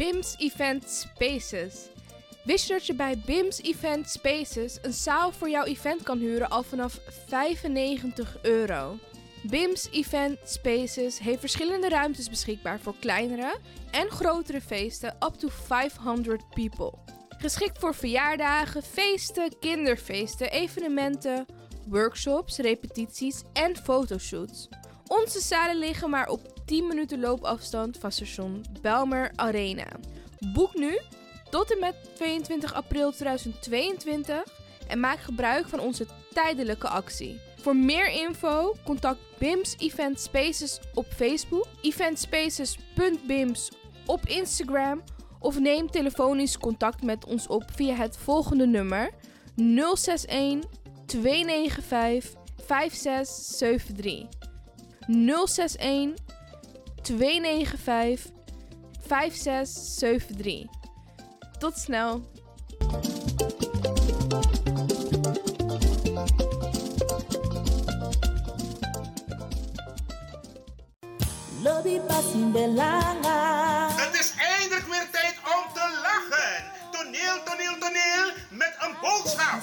BIMS Event Spaces. Wist je dat je bij BIMS Event Spaces een zaal voor jouw event kan huren al vanaf €95? BIMS Event Spaces heeft verschillende ruimtes beschikbaar voor kleinere en grotere feesten up to 500 people. Geschikt voor verjaardagen, feesten, kinderfeesten, evenementen, workshops, repetities en fotoshoots. Onze zalen liggen maar op 10 minuten loopafstand van station Bijlmer Arena. Boek nu tot en met 22 april 2022 en maak gebruik van onze tijdelijke actie. Voor meer info contact BIMS Event Spaces op Facebook, eventspaces.bims op Instagram of neem telefonisch contact met ons op via het volgende nummer 061 295 5673. 061 295 5673. Tot snel. Het is eindelijk weer tijd om te lachen. Toneel met een boodschap.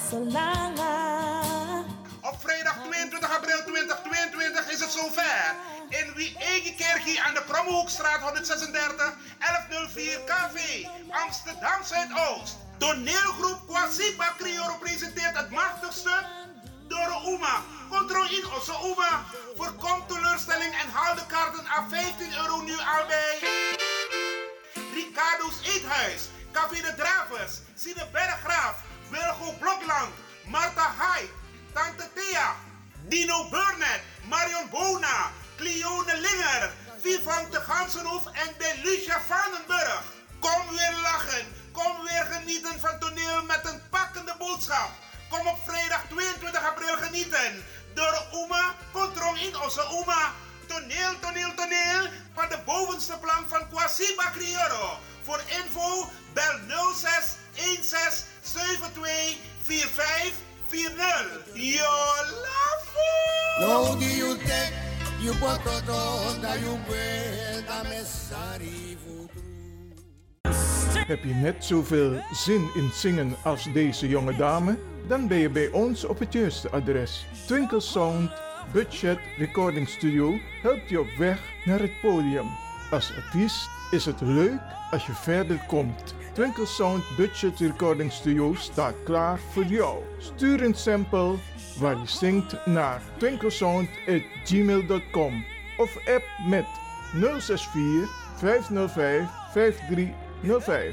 Op vrijdag 22 april 2022 is het zover. In Wie-Egi-Kerkie aan de Krommehoekstraat 136 1104 KV, Amsterdam Zuidoost. Toneelgroep Kwasipa Crioro presenteert het machtigste Doro Uma. Controle in Osso Uma. Voorkom teleurstelling en haal de kaarten aan €15 nu al bij Ricardo's Eethuis, Café de Dravers, Sine Berggraaf, Wilgo Blokland, Marta Hyde, Tante Thea, Dino Burnett, Marion Bona, Cleone Linger, Vivante Gansenhoef en Belucia Vandenburg. Kom weer lachen, kom weer genieten van toneel met een pakkende boodschap. Kom op vrijdag 22 april genieten. Door Uma, Kontrong in Osse Uma. Toneel van de bovenste plank van Kwasipa Crioro. Voor info bel 06 16 72 45 40. Yo lafo! No di you take, you bototo, da you buena mesari futru. Heb je net zoveel zin in zingen als deze jonge dame? Dan ben je bij ons op het juiste adres. Twinkle Sound Budget Recording Studio helpt je op weg naar het podium. Als artiest is het leuk als je verder komt. Twinkle Sound Budget Recording Studio staat klaar voor jou. Stuur een sample waar je zingt naar twinklesound@gmail.com of app met 064 505 5305.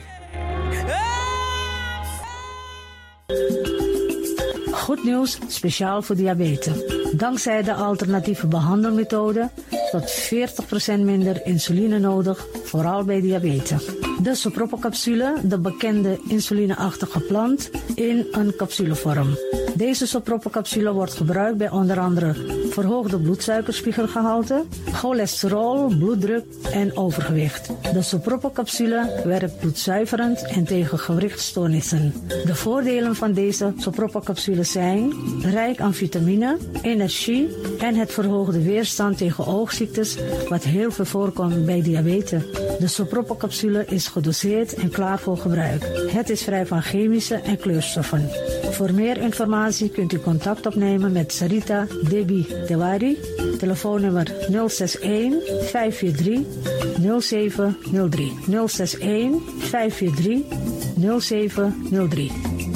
Goed nieuws, speciaal voor diabetes. Dankzij de alternatieve behandelmethode tot 40% minder insuline nodig, vooral bij diabetes. De Sopropo-capsule, de bekende insulineachtige plant, in een capsulevorm. Deze Sopropo-capsule wordt gebruikt bij onder andere verhoogde bloedsuikerspiegelgehalte, cholesterol, bloeddruk en overgewicht. De Sopropo-capsule werkt bloedzuiverend en tegen gewrichtstoornissen. De voordelen van deze Sopropo-capsule zijn rijk aan vitamine, energie en het verhoogde weerstand tegen oogziektes, wat heel veel voorkomt bij diabetes. De Sopropo-capsule is gedoseerd en klaar voor gebruik. Het is vrij van chemische en kleurstoffen. Voor meer informatie kunt u contact opnemen met Sarita Debi Dewari. Telefoonnummer 061 543 0703. 061 543 0703.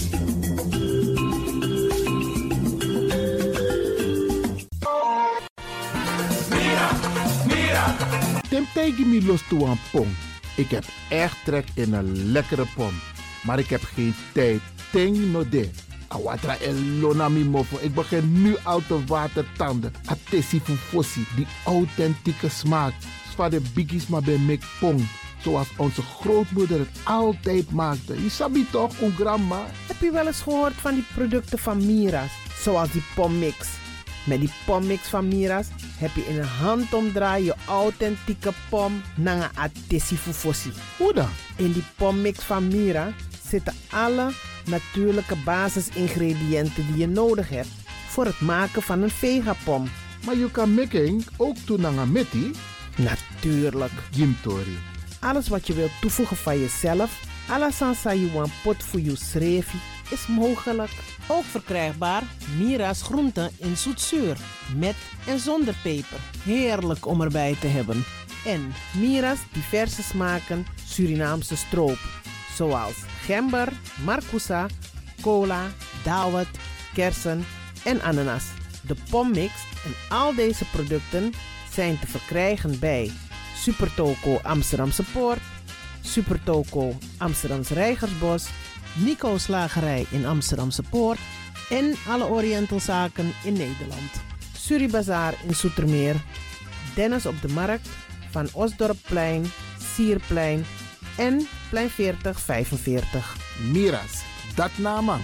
Temtegi mi los toe aan pom. Ik heb echt trek in een lekkere pom. Maar ik heb geen tijd. Ting no de. Awatra elona mi mofo. Ik begin nu al te watertanden. Atesi fufosi. Die authentieke smaak. Zwa de biggies maar bij mek pom. Zoals onze grootmoeder het altijd maakte. Je sabi toch, een grandma? Heb je wel eens gehoord van die producten van Mira's? Zoals die pommix. Met die pommix van Mira's heb je in een handomdraai je authentieke pom naar een atesi fufosi. Hoe dan? In die pommix van Mira zitten alle natuurlijke basisingrediënten die je nodig hebt voor het maken van een vegapom. Maar je kan making ook doen naar een metti? Natuurlijk. Jim Tori. Alles wat je wilt toevoegen van jezelf, alla sansa you want pot voor je schreef, is mogelijk. Ook verkrijgbaar Mira's groenten in zoetzuur, met en zonder peper. Heerlijk om erbij te hebben. En Mira's diverse smaken Surinaamse stroop, zoals gember, marcousa, cola, dawet, kersen en ananas. De pommix en al deze producten zijn te verkrijgen bij Supertoco Amsterdamse Poort, Supertoco Amsterdamse Reigersbos, Nico Slagerij in Amsterdamse Poort en alle Orientalzaken in Nederland. Suribazaar in Zoetermeer, Dennis op de Markt, Van Osdorpplein, Sierplein en Plein 4045. Miras, dat naman.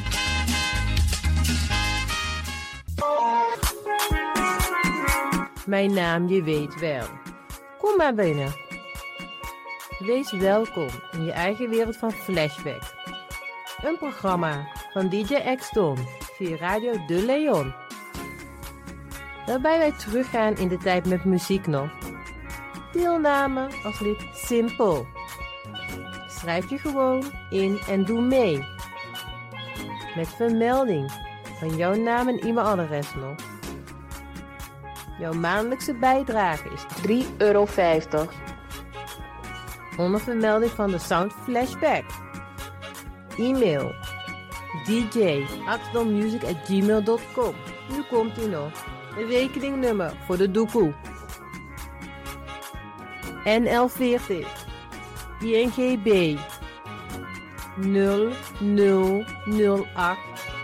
Mijn naam je weet wel. Kom maar binnen. Wees welkom in je eigen wereld van Flashback. Een programma van DJ X-Ton via Radio De Leon. Waarbij wij teruggaan in de tijd met muziek nog. Deelname als lid simpel. Schrijf je gewoon in en doe mee. Met vermelding van jouw naam en e-mailadres nog. Jouw maandelijkse bijdrage is €3,50. Onder vermelding van de Sound Flashback. E-mail dj@axdonmusic@gmail.com. Nu komt ie nog. Een rekeningnummer voor de doekoe. NL40 INGB 0008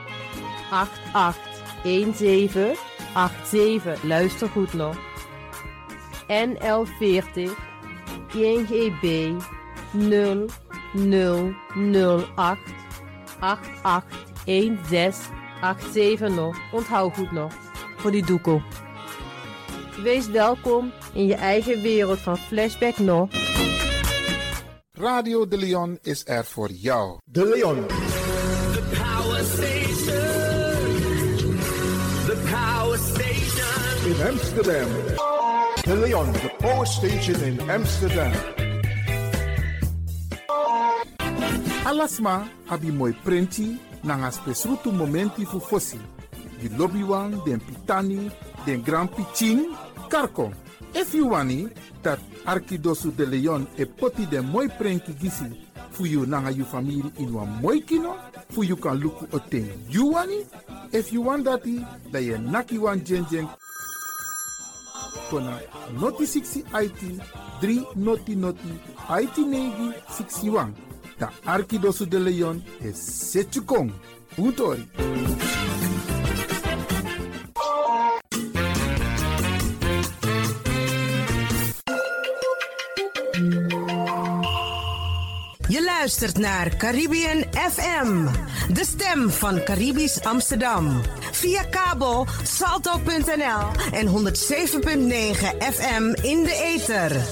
881787. Luister goed nog. NL40 INGB 0008 881687 nog. Onthoud goed nog. Voor die doekoe. Wees welkom in je eigen wereld van Flashback nog. Radio De Leon is er voor jou. De Leon. The Power Station. The Power Station. In Amsterdam. De Leon, the power station in Amsterdam. Alasma abi moi prenti nanga spesrutu momenti fu fossi. Di lobbywan, den pitani, den grand pitching, karko. If you wani, dat Arkidosu de Leon e poti den moi prenki gisi fu you nanga you family in wan moi kino, fu you kan luku oten you wani. If you want dati, da ye naki wan jeng kona noti 60 IT 3 noti IT negi 61. Da Arkidosu de Leon e setjukong. Utori. Je luistert naar Caribbean FM, de stem van Caribisch Amsterdam. Via kabel salto.nl en 107.9 FM in de ether.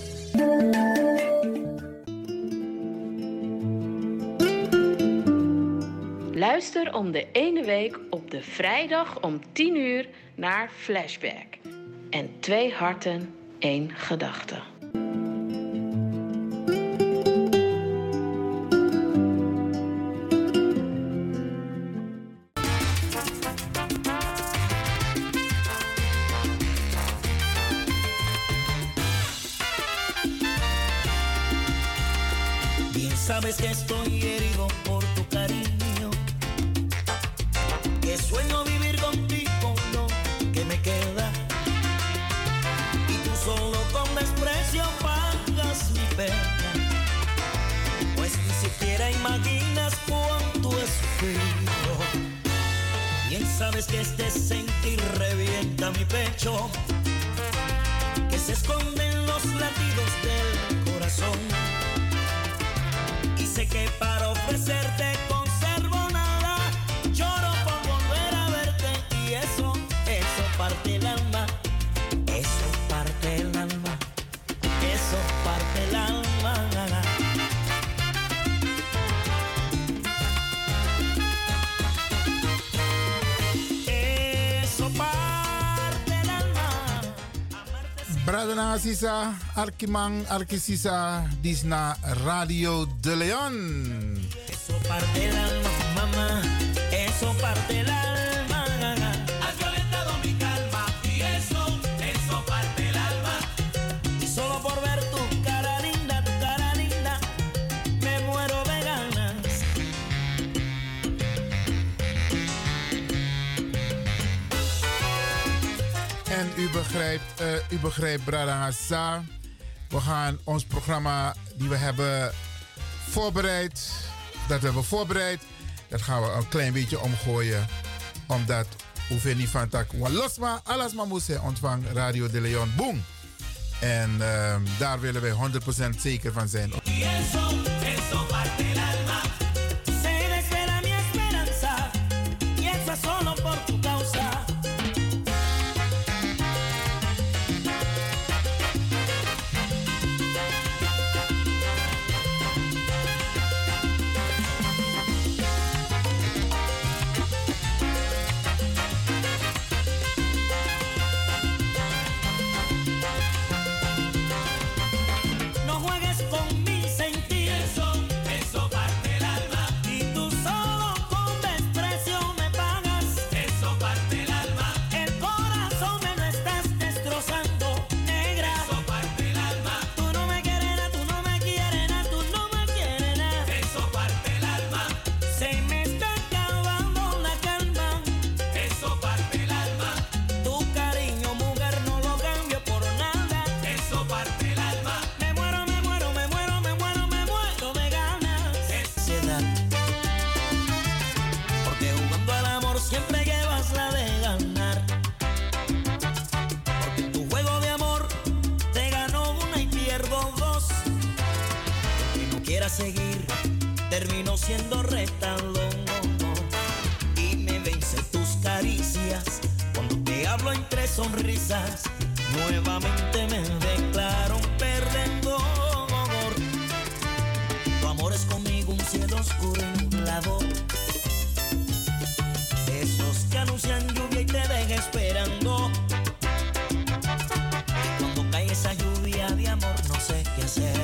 Luister om de ene week op de vrijdag om 10 uur naar Flashback. En 2 harten, 1 gedachte. Sabes que estoy herido por tu cariño, que sueño vivir contigo lo que me queda, y tú solo con desprecio pagas mi pena, pues ni siquiera imaginas cuánto he sufrido. Bien sabes que este sentir revienta mi pecho, que se esconden los latidos del corazón. Sé que para ofrecerte conservo nada, lloro por volver a verte y eso parte el alma, eso parte el alma, eso parte el alma. Eso parte el alma. Brada na sisa, Arkimang, Arkisisa, dis na Radio de Leon. Eso parte el alma, mamá, eso parte el alma. Has violentado mi calma y eso parte el alma. Y solo por ver tu cara linda, me muero de ganas. En u begrijpt, Brada Asa. We gaan ons programma die we hebben voorbereid, dat gaan we een klein beetje omgooien. Omdat hoeveel niet van tak walosma, alles maar moest ontvang Radio de Leon Boom. En daar willen wij 100% zeker van zijn. Eso parte el alma. Se desespera mi esperanza y eso es solo por tu causa. Seguir, termino siendo retador y me vence tus caricias cuando te hablo entre sonrisas. Nuevamente me declaro un perdedor. Tu amor es conmigo un cielo oscuro y nublado, esos que anuncian lluvia y te dejan esperando. Y cuando cae esa lluvia de amor no sé qué hacer.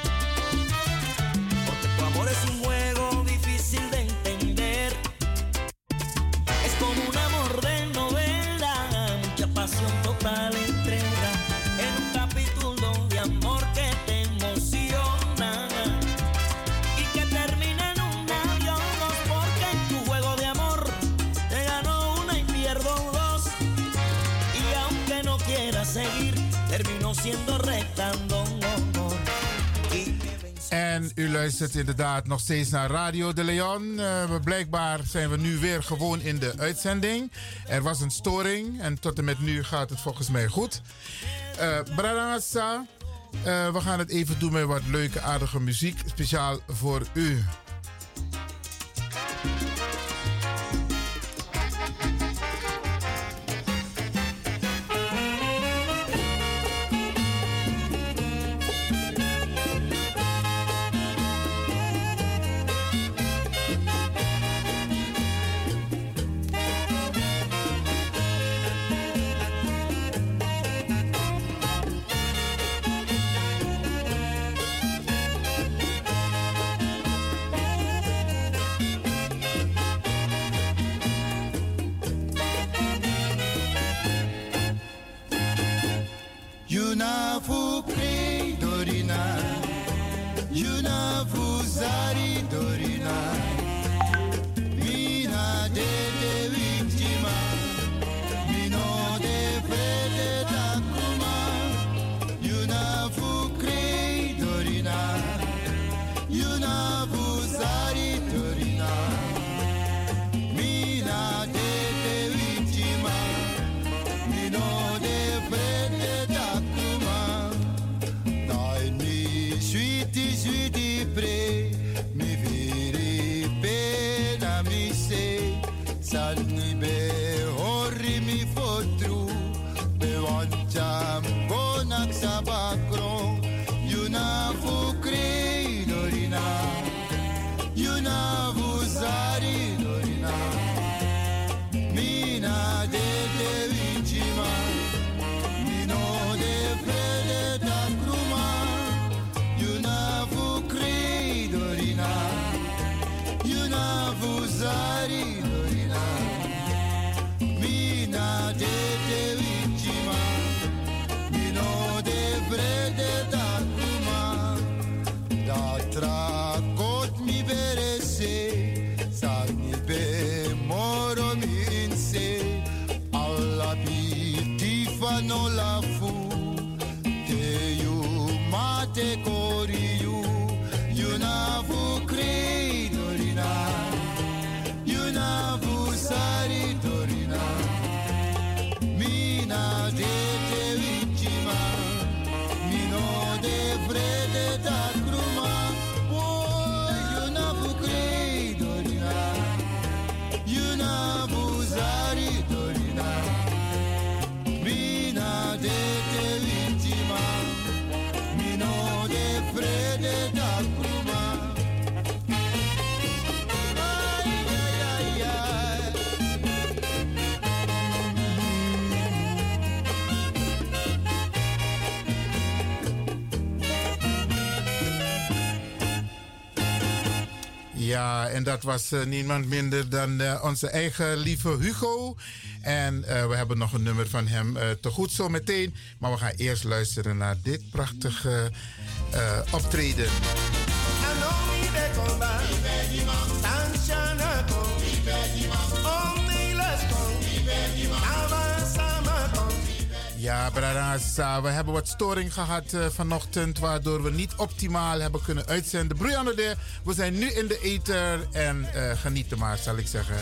Es un juego difícil de entender. Es como un amor de novela, mucha pasión, total entrega, en un capítulo de amor que te emociona y que termina en un adiós, porque en tu juego de amor te gano una y pierdo dos. Y aunque no quiera seguir, termino siendo rectando. En u luistert inderdaad nog steeds naar Radio de Leon. Blijkbaar zijn we nu weer gewoon in de uitzending. Er was een storing en tot en met nu gaat het volgens mij goed. Bradangasa, we gaan het even doen met wat leuke, aardige muziek. Speciaal voor u. te koriu, yuna fu krei dorina, yuna fu sari dorina, mina de te vichima, mino de vrede da kruma, oh yuna fu krei dorina, yuna fu sari dorina, mina de te vichima, mino de vrede da kruma. Ja, en dat was niemand minder dan onze eigen lieve Hugo. En we hebben nog een nummer van hem te goed zo meteen. Maar we gaan eerst luisteren naar dit prachtige optreden. Ja, Brarasa, we hebben wat storing gehad vanochtend, waardoor we niet optimaal hebben kunnen uitzenden. Brianne, we zijn nu in de ether en genieten maar, zal ik zeggen.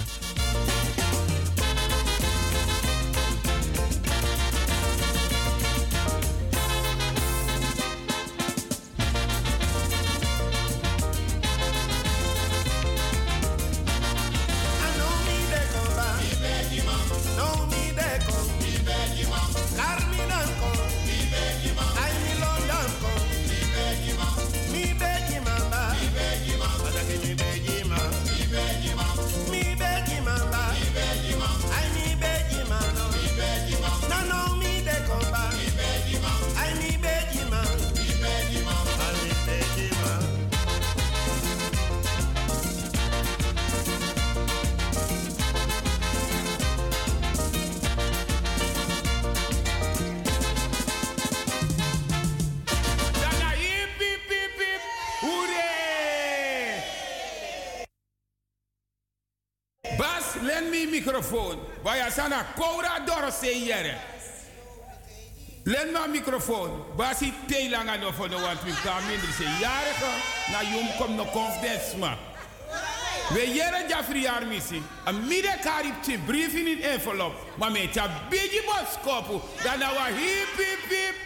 Microfoon. Waar sana Koura Dorse jere. Len maar microfoon. Basi te lang aan of no want we kan minder se jarige na jong kom no confidence ma. We jere Jafri armisi. A mide karip te brief in envelop. Maar met ja bigi boskopu. Dan na wa hip hip hip.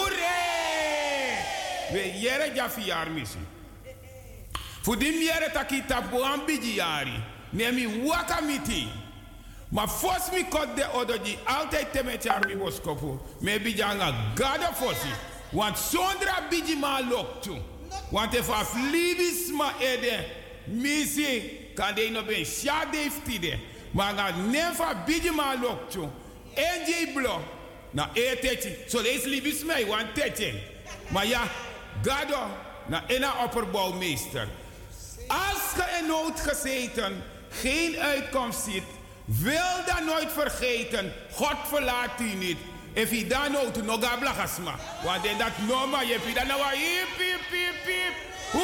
Hoeré! We jere Jafri armisi. Voor die jere takita boan bigi jari. Nemi wakamiti. Maar fos mi kot de odoji altijd te met armi boskopu. Me bijanga gada fosi. Want sondra biji ma lok tu. Want if af libis ma ede. Misi kan de no ben shade iftide. Maar ga nefa biji ma lok tu. NJ blo. Na eteti. So lees libis mij want tete. Maar ja, gado na ena opperbouwmeester. Als ge in nood gezeten geen uitkomst ziet, wil dan nooit vergeten, God verlaat u niet. If je dan nooit nog gaat blagasma, want in dat noma je hebt dan nou hip hip hip hip,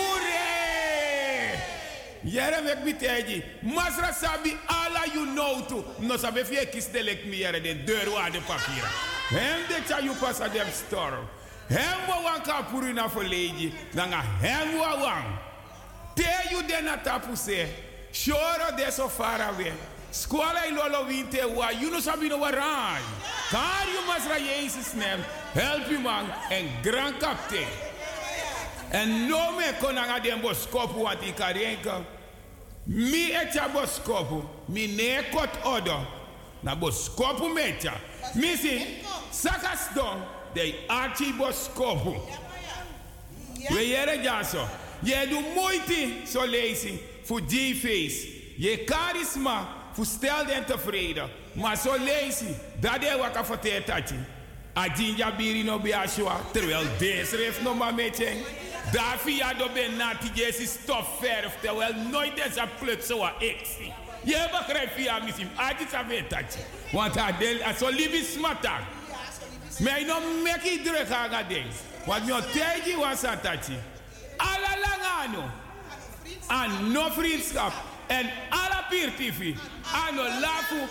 hoeré! Jere mek mi teji, masra sabi ala you know to, no sabi if je kies de lek mi jere de deur waar de papieren. Hem de cha you pass a dem store. Hem wa wan ka puri na verleden, dan ga hem wa wan. Te you den na tapu se, shoro de so far away. Squala ilolo winte wa, you no sabi no waran. Kar you masra Jezus nem, help you man, en grand captain. En no me konanga den boskopu wat ik karenka. Mi echa boskopu, mi ne kot odo. Na boskopu mecha. Misi, sakas don, de archi boskopu. We jere jaso. Je doet moeite zo lezen voor G-face. Je charisma voor stelde en tevreden. Maar zo lezen, dat is wat ik vertel dat je. Adinja biri no biashua, terwijl deze heeft nog maar met je. Daar via do ben nati jesi stofverf, terwijl nooit deze plut zo wat ik zie. Je begrijpt via misschien, adinja weet dat je. Want hij zo lief is smatak. Maar je nog meki druk aan ding. Want je tegen was dat je. Alla langano. En no vriendschap. En alla piertifi. En no lafu.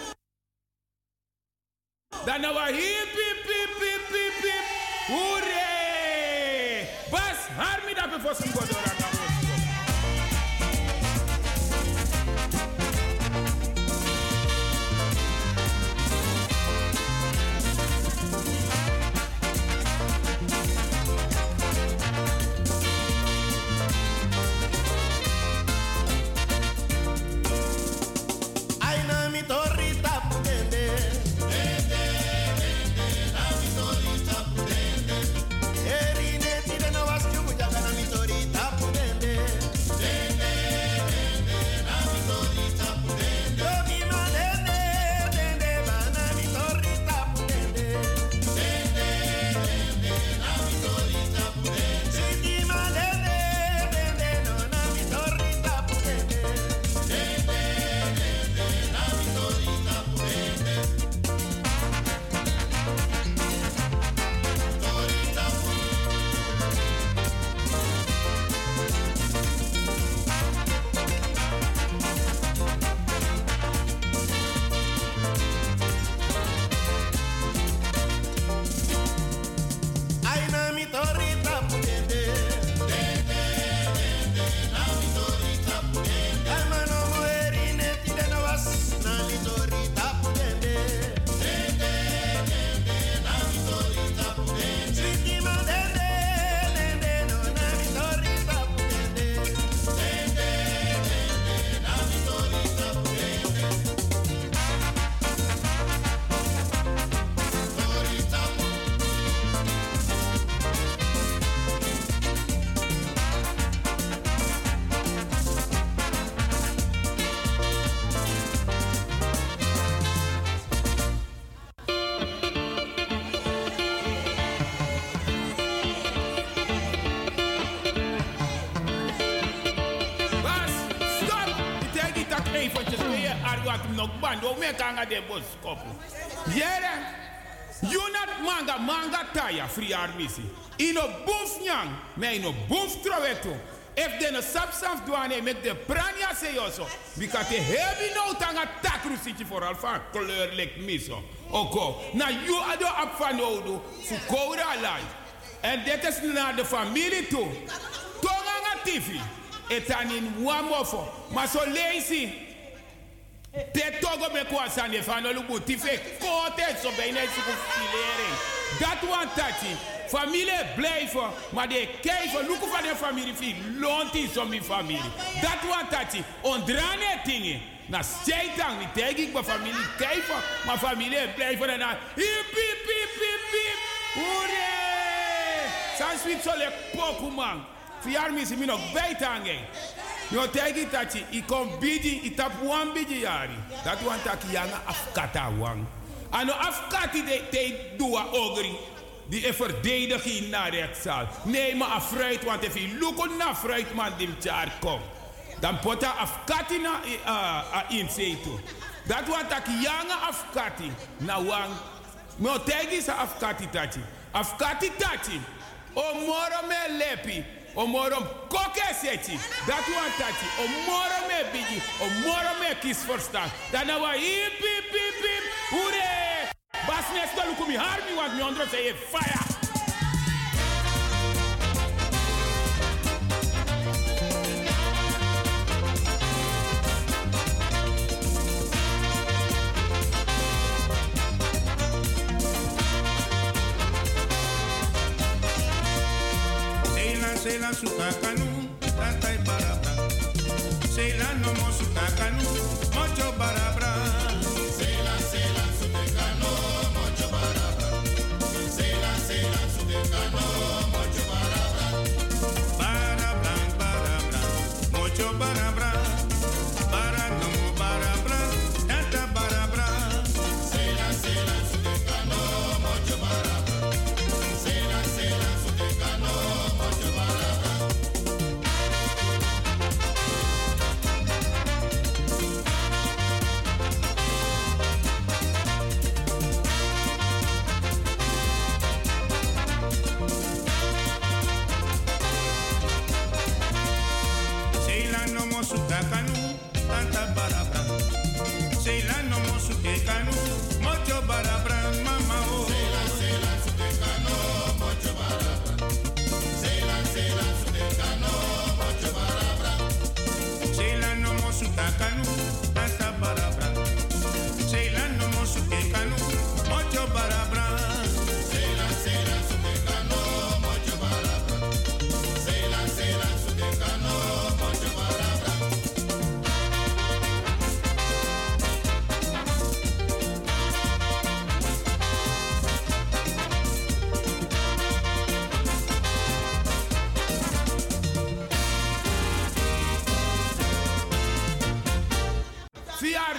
Dan nou hip hip hip hip hip hip. Hoeré! Bas! harmi dat we voor zijn godora gaan. De bos kopu. Jere, Junat manga taya free armisi. Ino boef nyang, me ino boef troweto. If de no sapsaf douane met de prania se yoso. Because te heavy no tanga takru siti for alfa kleur lek miso. Oko, na you ado apfanodo fu koura life. En dit is naar de familie toe. Tonga tifi. Etanin wamofo. Maar so lazy. Te togo me kwa sande fano lubu tife kote so bijna is filering. Dat want tati familie blijven, maar de kijken luku van de familie fi lonti so mi familie. Dat want tati ondrane dingen. Na stijtang niet tegen ik mijn familie kijken, maar familie blijven en dan hip hip hip hip hip. Hoera! Sans wit so le poku man. Fiarmi si mi nog bijtangen. Yo tegi tachi, I kom bidi, I tap wan bidi yari. Dat wan taki yanga afkata wan. Ano afkati te dua ogri. Die e verdediging naar rechtszaal. Nee, maar afruit, want if je lukken naar fruit, man, die jaar komt. Dan pota afkati na inzeto. Dat wan taki yanga afkati. Na wan. Yo tegi sa afkati tachi. Afkati tachi. O moro me lepi. Omorom koke seti. Dat wan tati. Omorom me bigi. Omorom me kies verstaan. Dan wa hip hip hip hip. Hoera! Bas nesto lukumi harmi want mi ondro say fire. Sela suka kanu, tatai barabra. Sela no mo suka kanu, mocho barabra. Sela suka kanu, mocho barabra. Sela suka kanu, mocho barabra. Barabra, barabra, mocho barabra. Bara no mo barabra, tata barabra. Sela suka kanu, mocho barabra. Sela suka kanu, mocho barabra.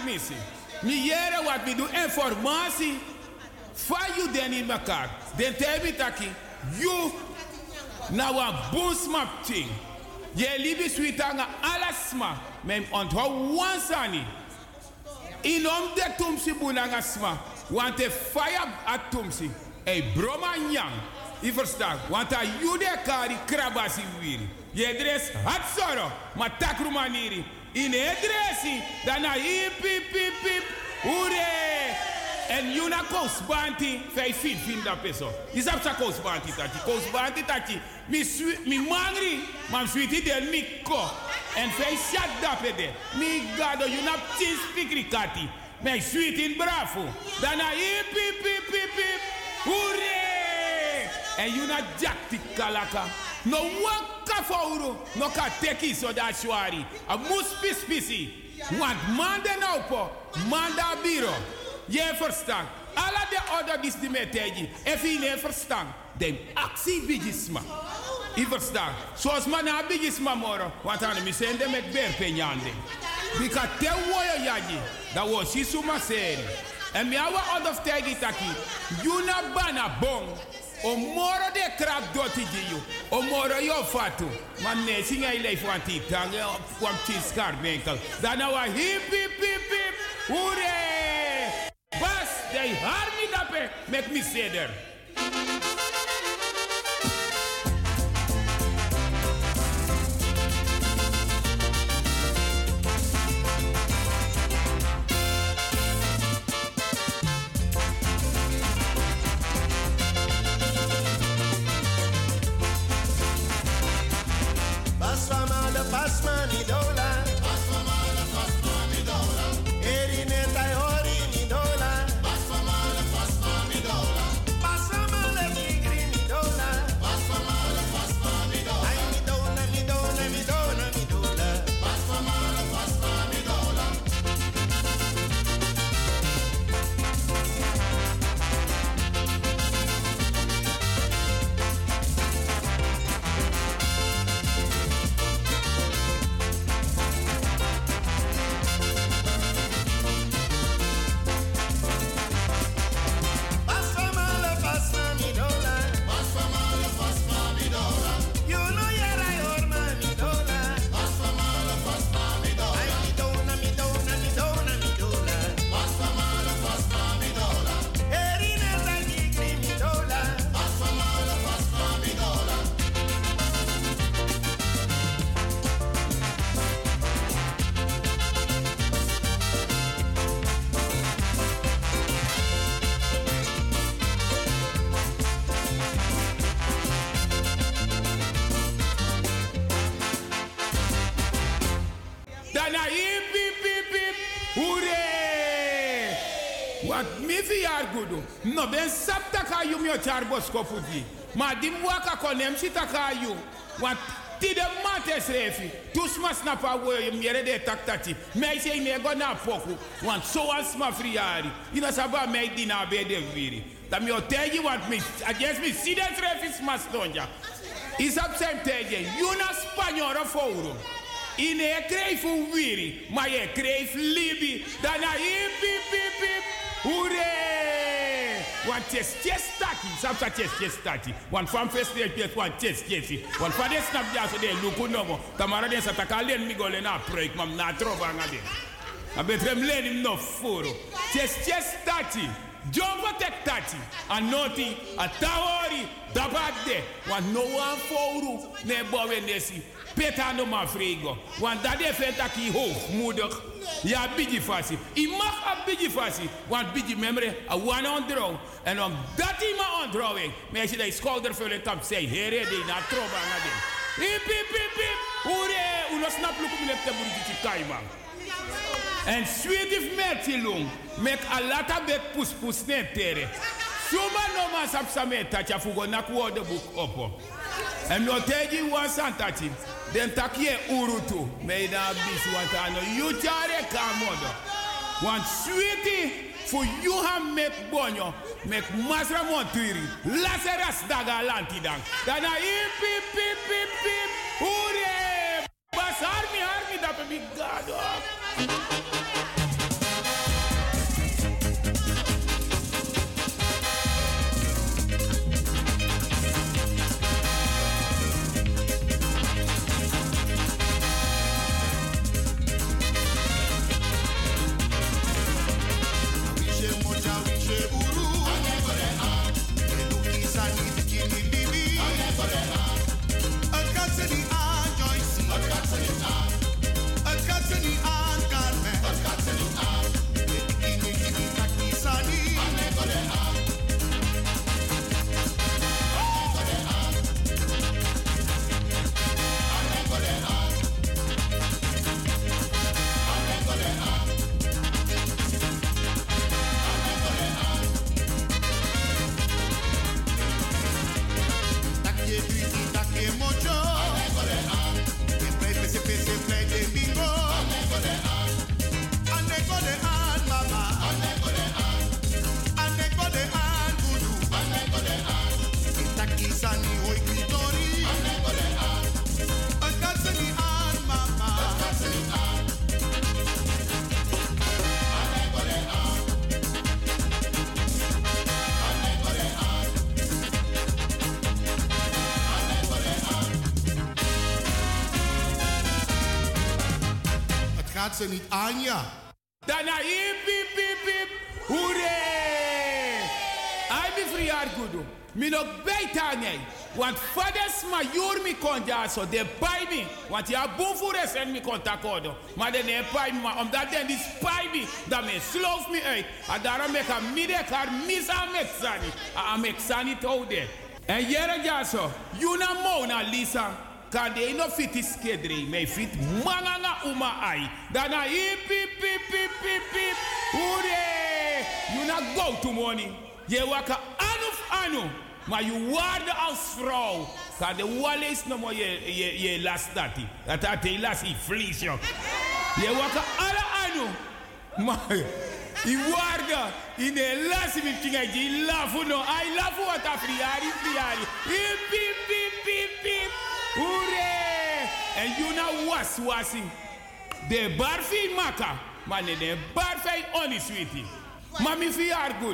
missie. Mi jere wat mi doe informatie. Van you den in elkaar. Den tebi taki. You. Na wa boosmap ting. Je libi sweetanga alasma. Mem onthou wansani. Inom de tumsi bunanga sma. Want a fire at tumsi. E broma nyang. I verstaat. Want a jude kari krabasi wiri. Je dress hat soro. Ma takru maniri. In e dressi. Dana hip hip hip hip. Ure. En yuna kousbanti. 5 feet finda peso. Isap sa kousbanti tati. Kousbanti tati. Mi mangri. Mam sweetie del mi ko. En 5 shot dapede. Mi gado yuna tin spikri kati. Mijn sweet in bravo. Daarna hip hip hip hip hip. Hoeré! En you na jakti kalaka. No waka fauro. No ka teki so da shwari. A mus pisi. Want mande nou po. Manda biro. Je verstaan. Alla de other dis die metegi. If je niet verstaan. Den actie bigisma. Je verstaan. Zoals man na bigisma moro. Want aan de sende met berpenjande. Bika te woyo yaji. Dat was si suma seri. En mi awa odof tegi taki. Yuna bana bong. O moro de krab doti jiyu. O moro yo fatu. Man ne singa ilei fanti tange. Kwam chiskar menkel. Dana wa hip hip hip hip. Ure. Bas, de harmi dape. Met mi seder. No ben sapta ka yu mio charbos ko puti. Ma dim waka konem sita ka yu. Want ti de mates refi. Tu smas na pa wo yum yere de taktati. Mei se me go na poku. Want so as ma friari. Ina saba mei dina be de viri. Da mi otegi want me. I guess me see that refi smas donja. Is up same tege. You na spagnolo fouro. Ine kreifu viri. Ma ye kreif libi. Dana hip hip hip hip. Ure! One chest taki, sapsa chest taki. One farm first day chest, one chest. One father snap just de luku nomo. Tamara de sataka len mi gole na break mam na trova ngade. A betrem len him no furo. Chest taki. Jumbo tek taki. A noti, a tawori, dabade. One no one foru ne bowe nesi. Peta no ma frigo. Want dat de fetaki hoogmoedig. Ja, bigi fasi. I mag a bigi fasi. Want bigi memory a one on draw. En om dat hij maar ontrouwing. Maar als je die schouder vullen op zij. Here die na troba na din. Hip hip hip hip. Ure. Uno snap luku mi lepte buriti kaima. En sweet if merti long. Mek a lata bek pus ne tere. Suma no ma sapsame tacha fugo na kuode book opo. En no teji wan santati. Den takie urutu. Meida bis watano. Yutare kamodo. Want sweetie. For you have make bonyo. Make masra montuiri. Laseras daga lantidang. Dana hip hip hip hip hip. Ure. Bas army da pe big god. gaat ze niet aan, ja. Daarna hip, hip, hip, hip. Hoeré! Hij ben verjaard goed doen. Mi nog bijtaan nee. Want vaders maar joer mi kon ja zo. De bij me. Want ja boem voor is en mi kon takodo. Maar de nee bij me. Maar omdat den die spij me. Dan me sloof me uit. En daarom ik aan midden haar mis aan mexani. Aan mexani te houden. En jere ja zo. Juna Mona Lisa. Kan de no fit is kedri. Me fit manganga uma ai. Daarna hip hip hip hip hip hip. Hoeré! Juna go to money. Je waka anu. Maar je waarde als vrouw. Kan de wal is nog maar je last dat. Dat had je last in vlies, joh. Je waka alle anu. Maar je waarde in de last in het ding. Je lafu no. I lafu wat a friari. Hip, hip, hip, hip, hip. Hoeré! En je nou wasing. De barfi maka. Maar de barfi oni sweetie. Maar mi fiar goed.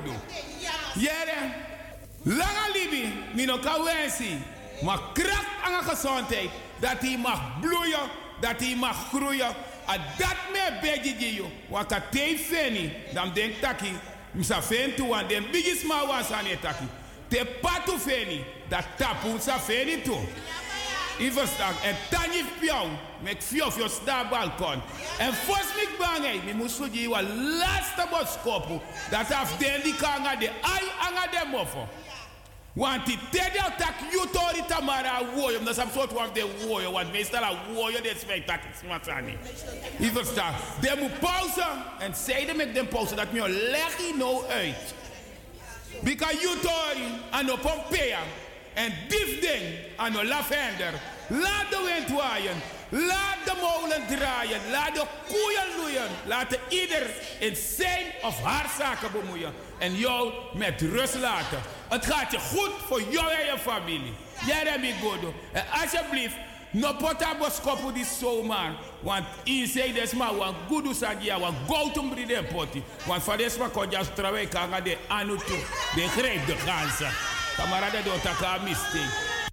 Jere. Lange libi, mi no kan wensen. Maar kracht aan de gezondheid. Dat hij mag bloeien, dat hij mag groeien. En dat me bedje je. Want als hij feni, dan denk ik, misa fen toe, want de biggest man was aan het taki. Te patu feni, dat tapu sa feni toe. Je verstaat, en dan je piauw, met vio sta balkon. En volgens mij bang, mi moest voor je wat laatste boodschap. Dat af den die kan aan de ai aan de moffo. Want die tede tak yutori tamara woyo, omdat some sort of de woyo, want meestal a woyo de spectac smatsani. Je verstaat, de moet pauze en zeiden met de pauze dat me leg je nou uit. Because yutori aan de Pompeia en dief ding aan de lavender, laat de wind waaien, laat de molen draaien, laat de koeien loeien, laat ieder in zijn of haar zaken bemoeien en jou met rust laten. Het gaat je goed voor jou en je familie. Jij hebt me goed. En alsjeblieft, no pota boskopu die zomaar. Want in zei des maar wan gudu sagia wan goutum bride poti. Want van des maar kon jas trouwen kanga de anu toe. De greep de ganzen. Kamerade do taka mistake.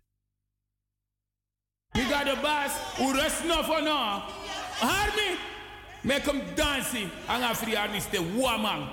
We got the boss who rest no for no. Harmy, make him dancing. Anga free army stay woman.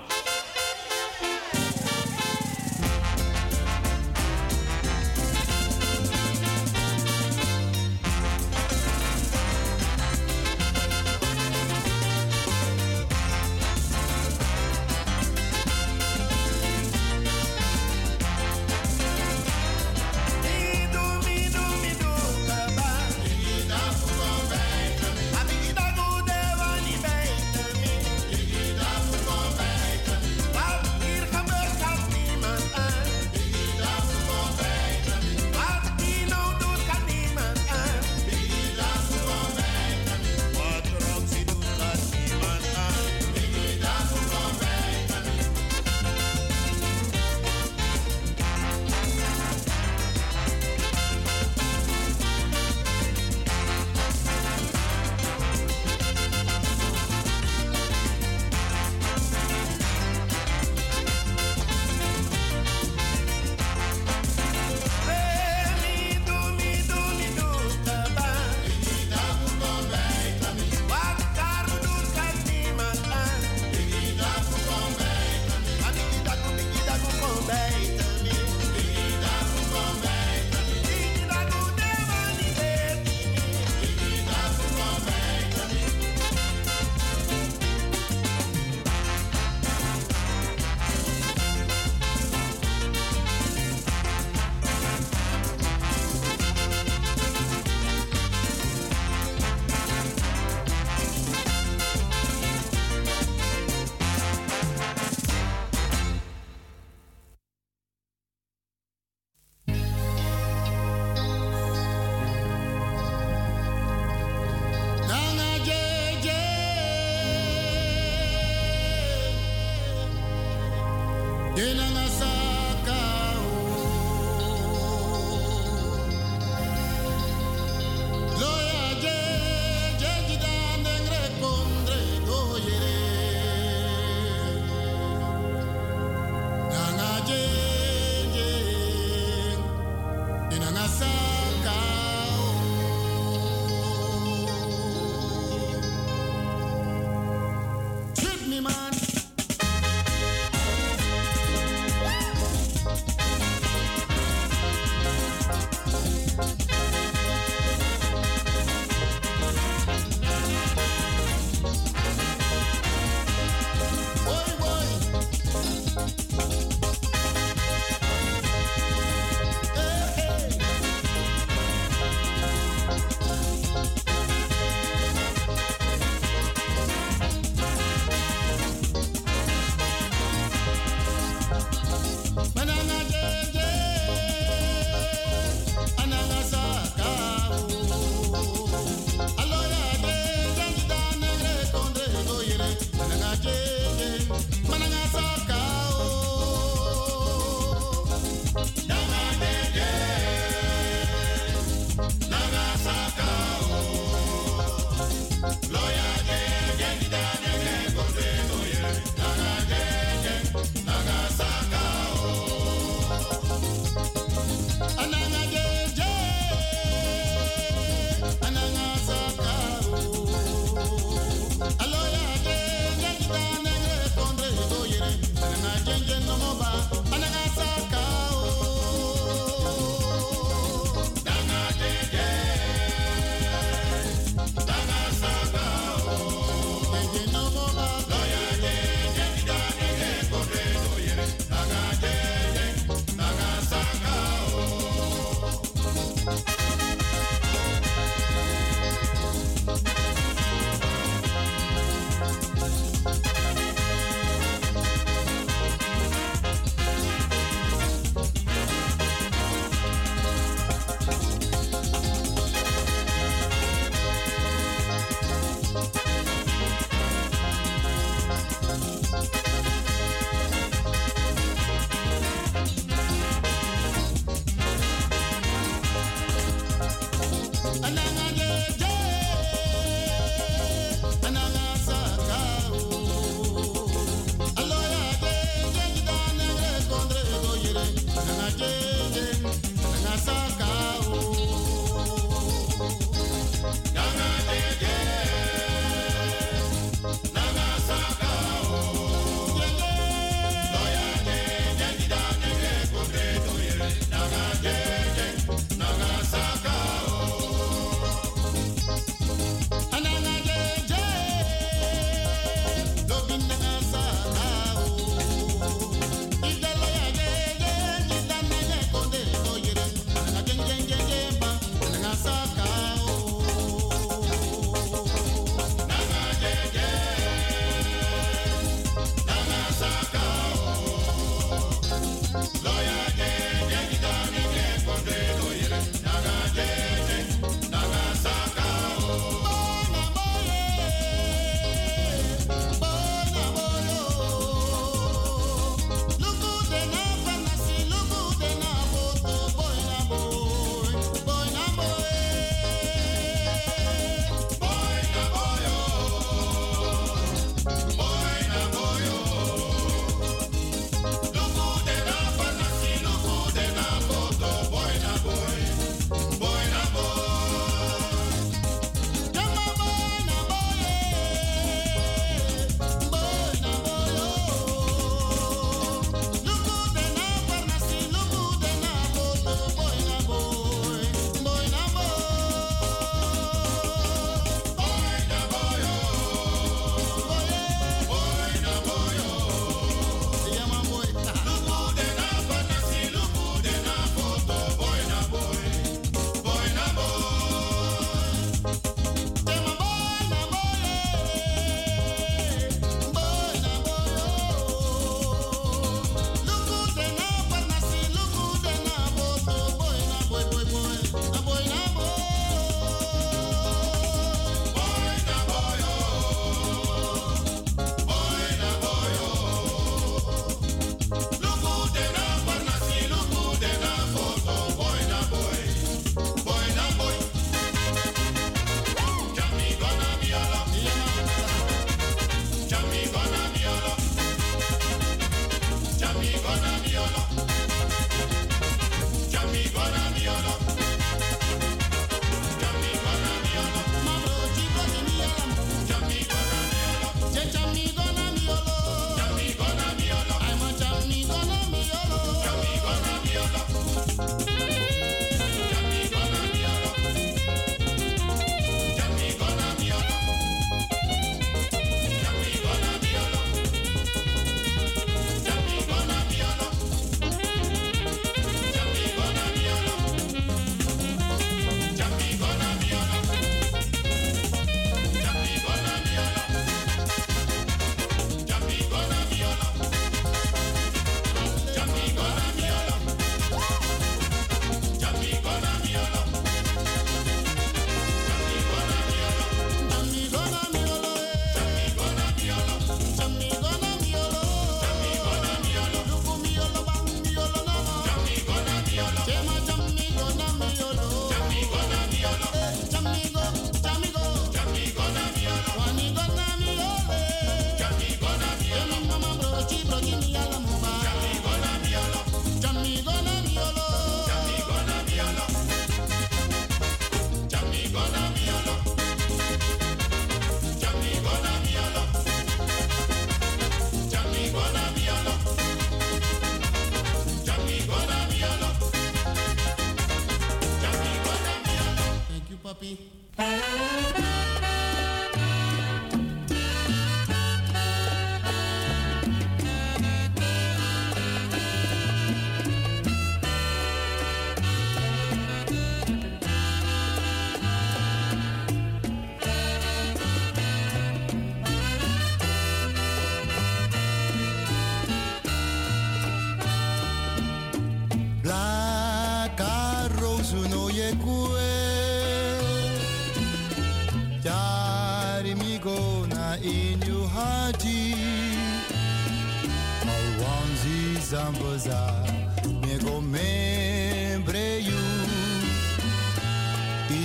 Zamboza, me go membre you. Inina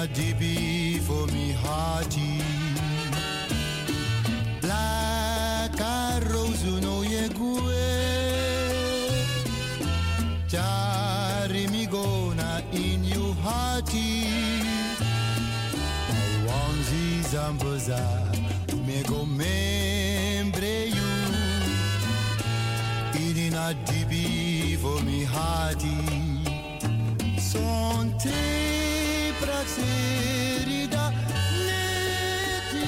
a dibi for me hearty. Black a rose no ye gue. Jari mi gona in you hearty. Wanzi zamboza me go membre you. Idina dibi for me hearty. Son te praxerida neti.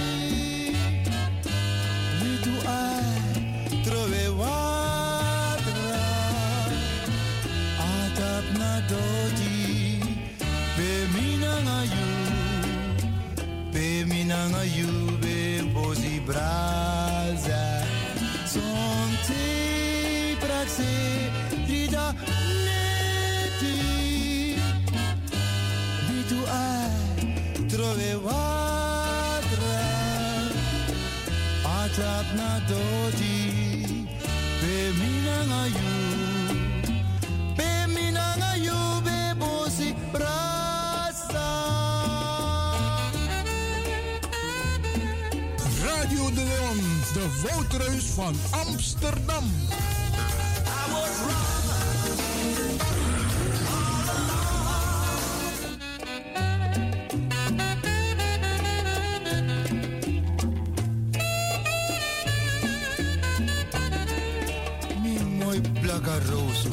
Ni tu ai trove wadra. Atap na dodi. Be minanga you. Be minanga you. Be bozi braza. Son te praxerida neti. Trove wadra atap na dodi be minanga you be bosi brasa. Radio de Leon, de Woudreus van Amsterdam. I was wrong. Roso.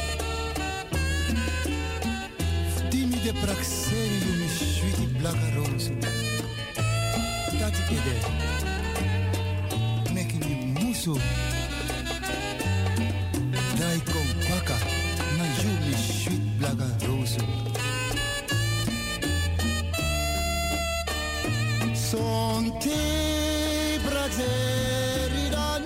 Dimmi de praxeri io mi shuiti blaga roso. Tati kede. Meki mi muso. Dai con kwaka na yu mi shuit blaga roso. Son te praxeri dan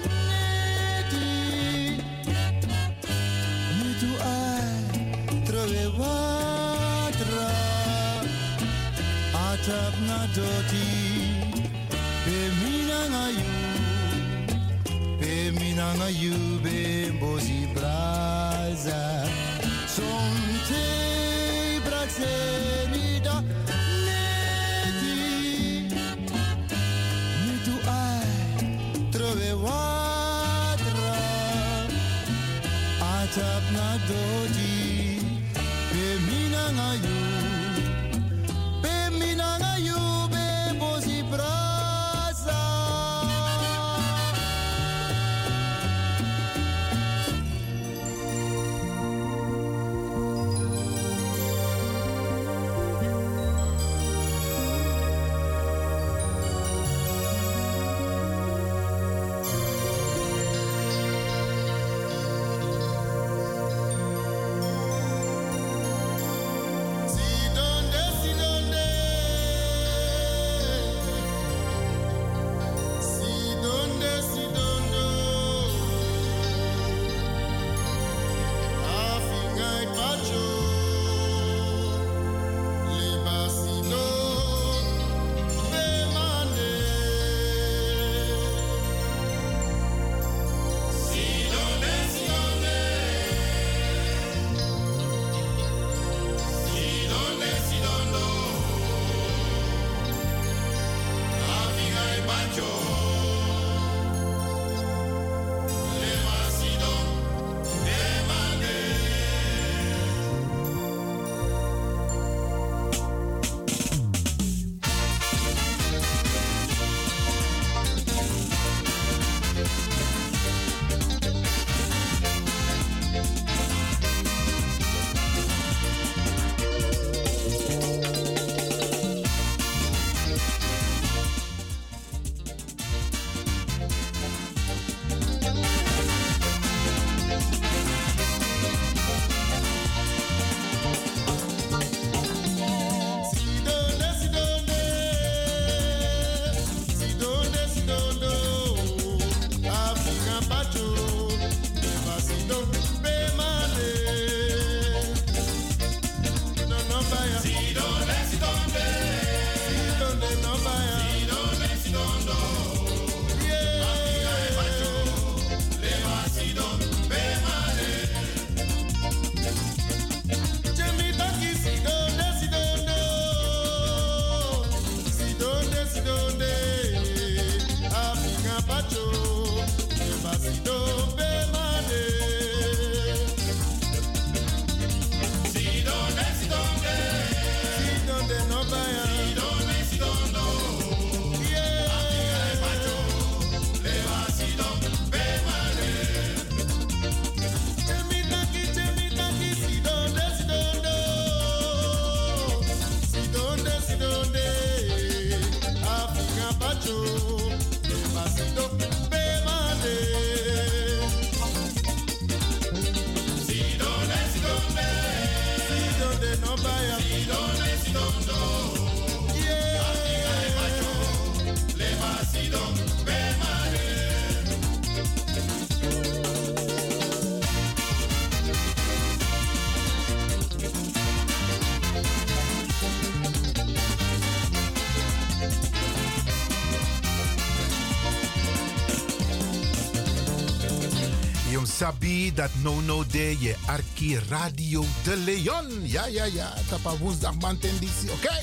atap na doti be minanga you be bozi braza son te braxerida neti ni tu ai trove wadra atap na doti be minanga you. Sabi dat no de je Arki Radio de Leon. Ja. Tapa woensdag mantenditie, oké?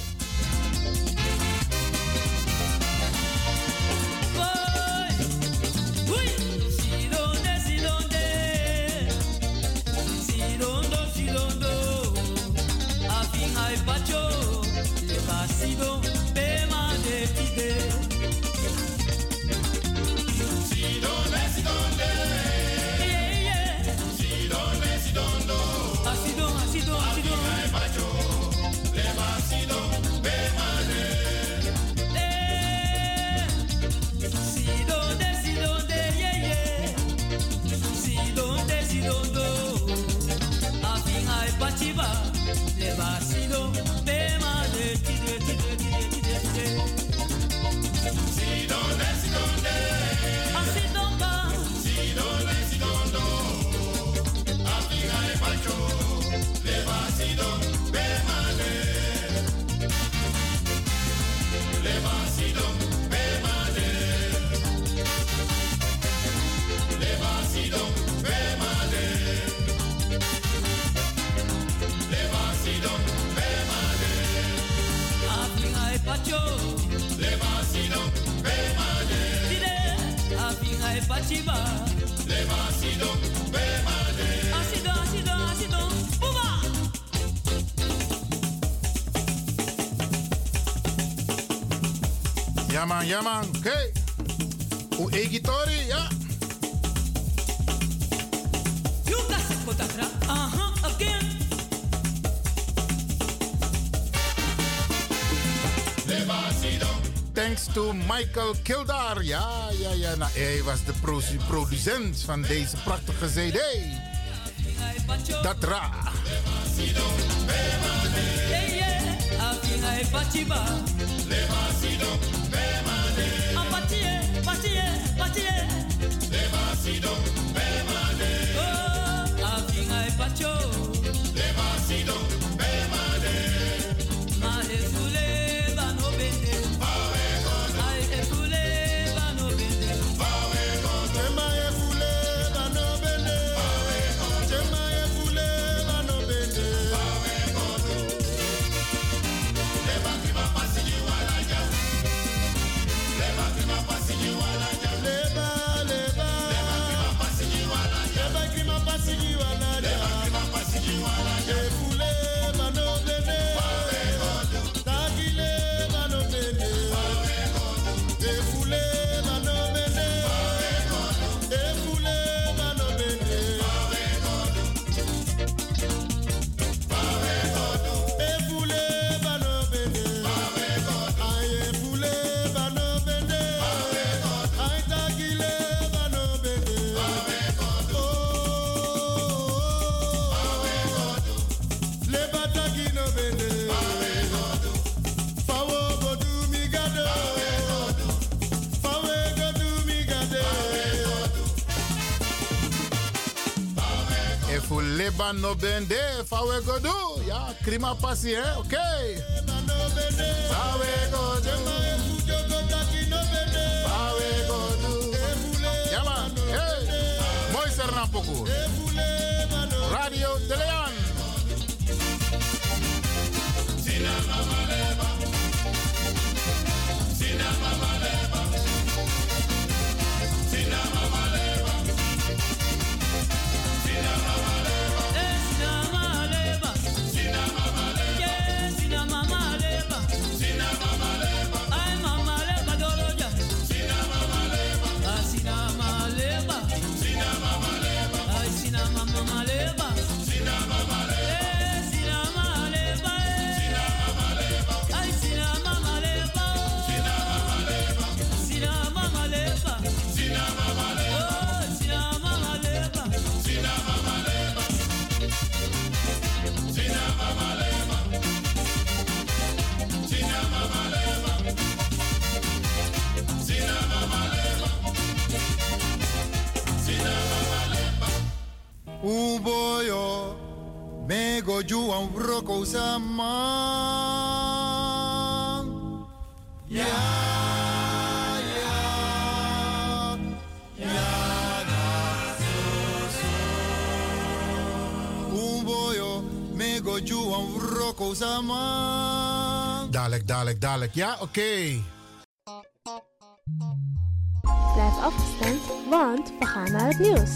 Ja man, oké. O egitori, ja. Again. Thanks to Michael Kildar. Ja. Nou, hij was de producent van deze prachtige CD. Dat ra. Leban no bende, fawe go do. Ja, krima passie, hè? Oké. Fawe go do. Fawe go do. Ja man, hey. Mooi Sernampoku. Radio De Leon. Sina mama leba. Sina mama leba. Sina mama leba. Sina mama leba. Sina mama leba. go juan broko sama. Ya, ya, ya na so. Umboyo me go juan broko sama. Dadelijk. Ja, oké. Blijf afgestemd, want we gaan naar het nieuws.